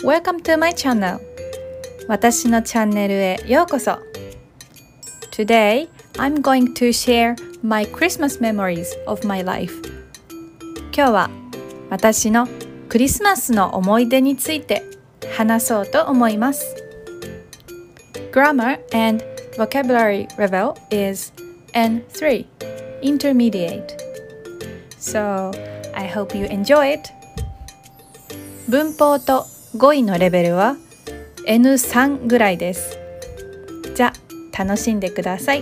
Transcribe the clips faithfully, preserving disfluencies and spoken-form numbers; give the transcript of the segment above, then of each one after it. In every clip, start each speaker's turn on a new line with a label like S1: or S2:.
S1: Welcome to my channel. 私のチャンネルへようこそ。Today, I'm going to share my Christmas memories of my life. 今日は私のクリスマスの思い出について話そうと思います。Grammar and vocabulary level isエヌスリー, Intermediate. So, I hope you enjoy it. 文法と語彙のレベルは エヌスリー ぐらいです。じゃあ楽しんでください。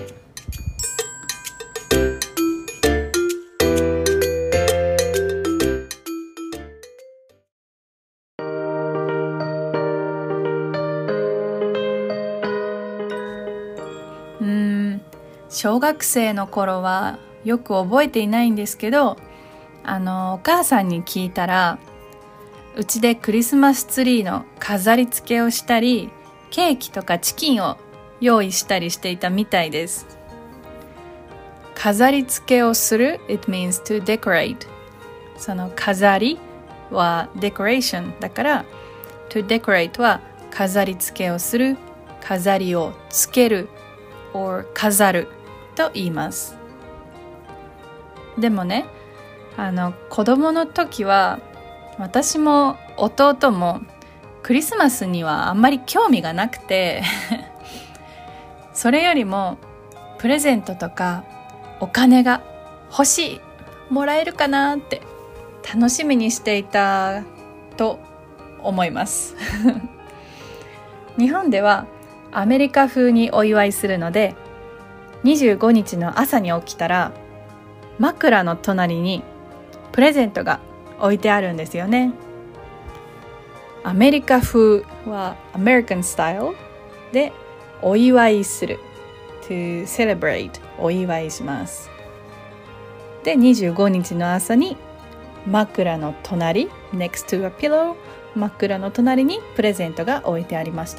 S1: うーん、小学生の頃はよく覚えていないんですけど、あのお母さんに聞いたら、うちでクリスマスツリーの飾り付けをしたり、ケーキとかチキンを用意したりしていたみたいです。飾り付けをする It means to decorate. その飾りは decoration だから to decorate は飾り付けをする、飾りをつける or 飾ると言います。でもね、あの子供の時は私も弟もクリスマスにはあんまり興味がなくてそれよりもプレゼントとかお金が欲しい、もらえるかなって楽しみにしていたと思います日本ではアメリカ風にお祝いするので、にじゅうごにちの朝に起きたら枕の隣にプレゼントが置いてあるんですよね。アメリカ風は American style でお祝いする to celebrate お祝いします。でにじゅうごにちの朝に枕の隣 next to a pillow 枕の隣にプレゼントが置いてありました。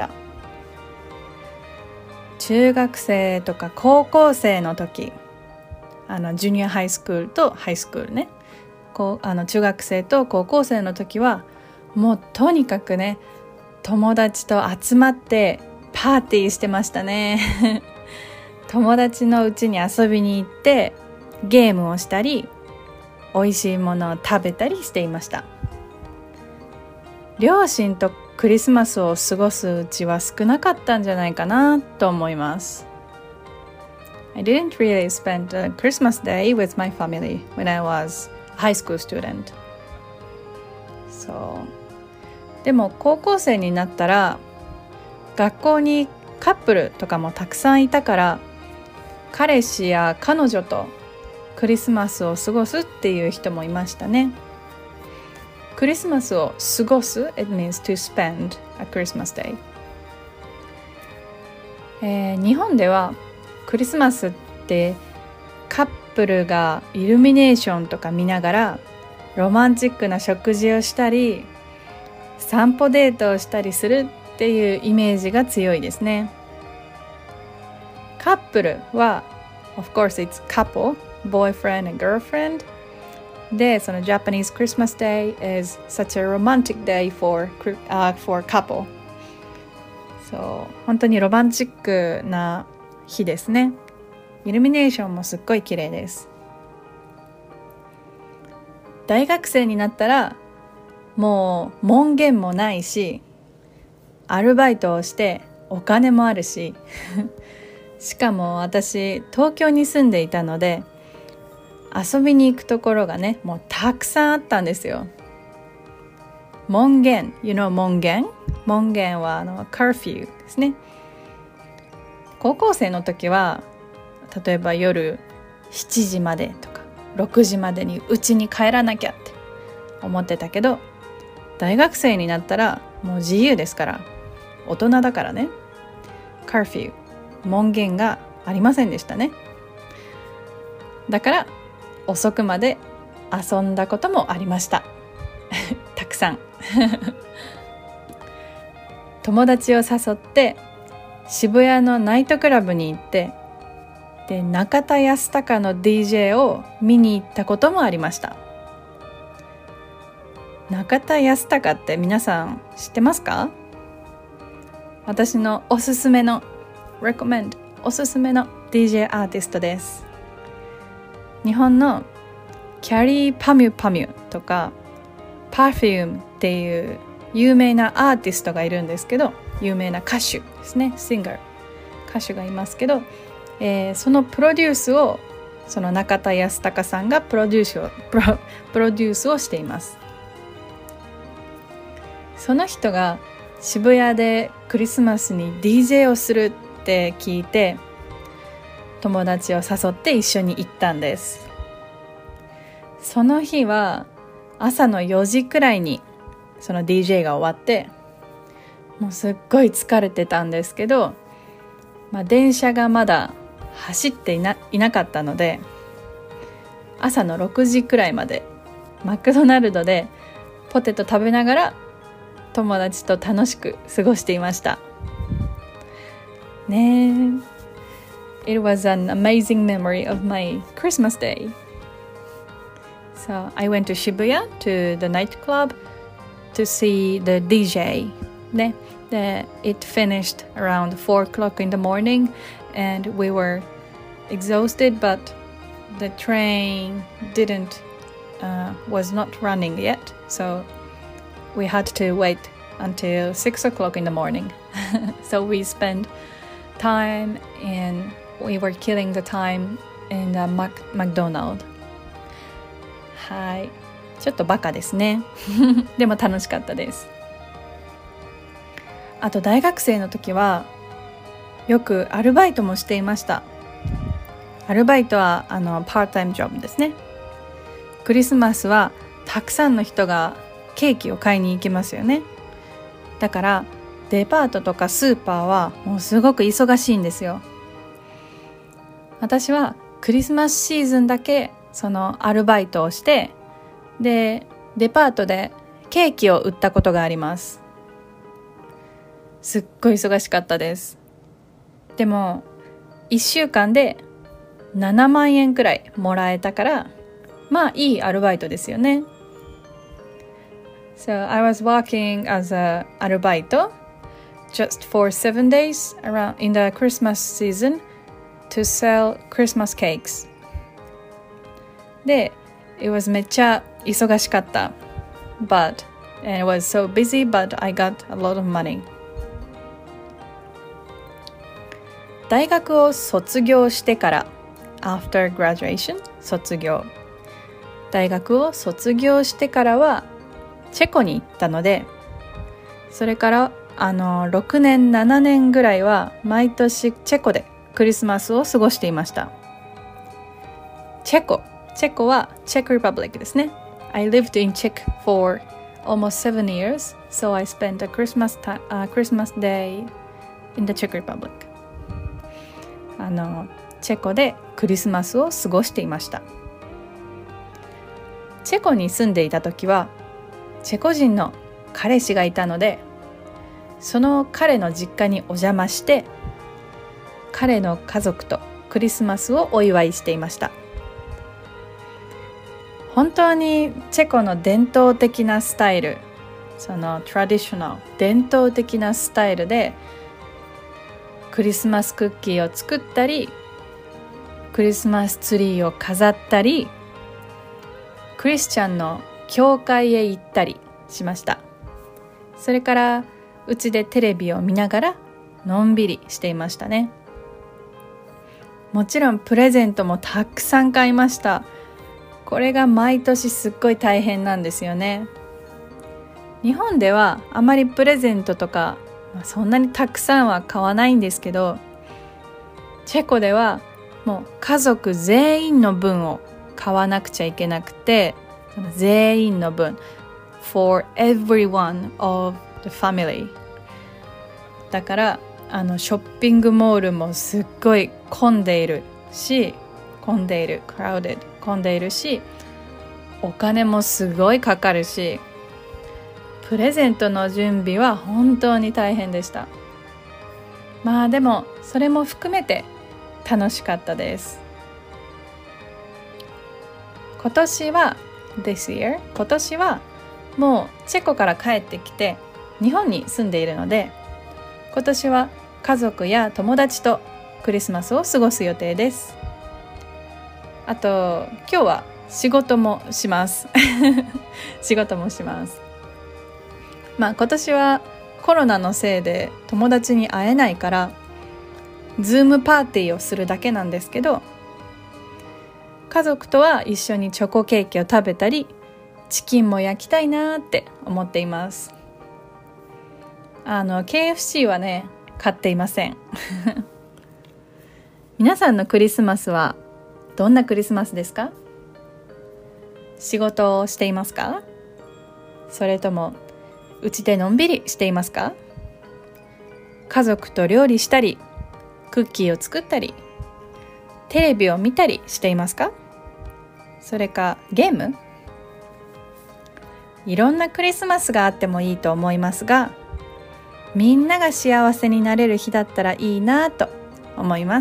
S1: 中学生とか高校生の時、あのジュニアハイスクールとハイスクールね、こうあの中学生と高校生の時はもうとにかくね、友達と集まってパーティーしてましたね友達の家に遊びに行ってゲームをしたり、美味しいものを食べたりしていました。両親とクリスマスを過ごすうちは少なかったんじゃないかなと思います。I didn't really spend a Christmas day with my family when I was a high school student. そう。でも高校生になったら学校にカップルとかもたくさんいたから、彼氏や彼女とクリスマスを過ごすっていう人もいましたね。クリスマスを過ごす It means to spend a Christmas day、えー、日本ではクリスマスってカップルがイルミネーションとか見ながらロマンチックな食事をしたり、散歩デートをしたりするっていうイメージが強いですね。カップルは of course it's couple, boyfriend and girlfriend で、その Japanese Christmas Day is such a romantic day for,、uh, for couple。 そう、本当にロマンチックな日ですね。イルミネーションもすっごい綺麗です。大学生になったらもう門限もないし、アルバイトをしてお金もあるししかも私東京に住んでいたので遊びに行くところがね、もうたくさんあったんですよ。門限 you know 門限門限はあの curfew ですね。高校生の時は例えば夜しちじまでとかろくじまでに家に帰らなきゃって思ってたけど、大学生になったらもう自由ですから、大人だからね、カーフィー門限がありませんでしたね。だから遅くまで遊んだこともありましたたくさん友達を誘って渋谷のナイトクラブに行って、で中田泰孝の ディージェー を見に行ったこともありました。中中田泰孝って皆さん知ってますか？私のおすすめの recommend おすすめの ディージェー アーティストです。日本のキャリーパミュパミュとか Perfume っていう有名なアーティストがいるんですけど、有名な歌手ですね、シンガー歌手がいますけど、えー、そのプロデュースをその中田泰孝さんがプロデュースをプロ、プロデュースをしています。その人が渋谷でクリスマスに ディージェー をするって聞いて、友達を誘って一緒に行ったんです。その日は朝のよじくらいにその ディージェー が終わって、もうすっごい疲れてたんですけど、まあ、電車がまだ走っていな、いなかったので、朝のろくじくらいまでマクドナルドでポテト食べながら友達と楽しく過ごしていましたね。It was an amazing memory of my Christmas day. So I went to Shibuya to the nightclub to see the ディージェー ね。で It finished around four o'clock in the morning and we were exhausted, but the train didn't uh, was not running yet, so we had to wait until six o'clock in the morning. So we spent time and we were killing the time in the Mac- McDonald's. はい、ちょっとバカですね。でも楽しかったです。あと大学生の時はよくアルバイトもしていました。アルバイトはあのパータイムジョブですね。クリスマスはたくさんの人がケーキを買いに行きますよね。だからデパートとかスーパーはもうすごく忙しいんですよ。私はクリスマスシーズンだけそのアルバイトをして、でデパートでケーキを売ったことがあります。すっごい忙しかったです。でもいっしゅうかんでななまんえんくらいもらえたから、まあいいアルバイトですよね。So I was working as a アルバイト just for seven days around in the Christmas season to sell Christmas cakes. で It was めっちゃ忙しかった but and it was so busy, but I got a lot of money. 大学を卒業してから after graduation 卒業大学を卒業してからはチェコに行ったので、それからあのろくねんななねんぐらいは毎年チェコでクリスマスを過ごしていました。チェコチェコは Czech Republic ですね。 I lived in Czech for almost seven years, so I spent a Christmas, ta- uh, Christmas day in the Czech Republic. あのチェコでクリスマスを過ごしていました。チェコに住んでいた時はチェコ人の彼氏がいたので、その彼の実家にお邪魔して彼の家族とクリスマスをお祝いしていました。本当にチェコの伝統的なスタイル、そのトラディショナル伝統的なスタイルでクリスマスクッキーを作ったり、クリスマスツリーを飾ったり、クリスチャンの教会へ行ったりしました。それからうちでテレビを見ながらのんびりしていましたね。もちろんプレゼントもたくさん買いました。これが毎年すっごい大変なんですよね。日本ではあまりプレゼントとかそんなにたくさんは買わないんですけど、チェコではもう家族全員の分を買わなくちゃいけなくて、その全員の分 for everyone of the family だから、あのショッピングモールもすっごい混んでいるし混んでいる crowded 混んでいるし、お金もすごいかかるし、プレゼントの準備は本当に大変でした。まあでもそれも含めて楽しかったです。今年は this year 今年はもうチェコから帰ってきて日本に住んでいるので、今年は家族や友達とクリスマスを過ごす予定です。あと今日は仕事もします仕事もします。まあ今年はコロナのせいで友達に会えないからズームパーティーをするだけなんですけど、家族とは一緒にチョコケーキを食べたりチキンも焼きたいなって思っています。あの ケーエフシー はね買っていません皆さんのクリスマスはどんなクリスマスですか？仕事をしていますか？それともうちでのんびりしていますか？家族と料理したりクッキーを作ったりテレビを見たりしていますか？それかゲーム？いろんなクリスマスがあってもいいと思いますが、みんなが幸せになれる日だったらいいなと思います。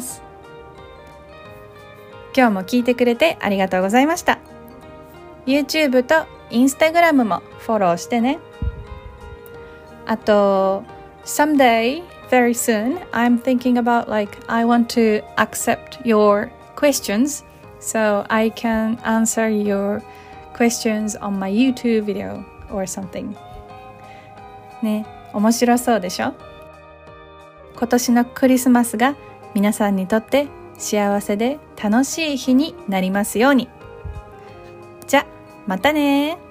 S1: 今日も聞いてくれてありがとうございました。 YouTube と Instagram もフォローしてね。あと someday very soon I'm thinking about like I want to accept your questions so I can answer your questions on my YouTube video or something ね、面白そうでしょ？今年のクリスマスが皆さんにとって幸せで楽しい日になりますように。じゃ、またね。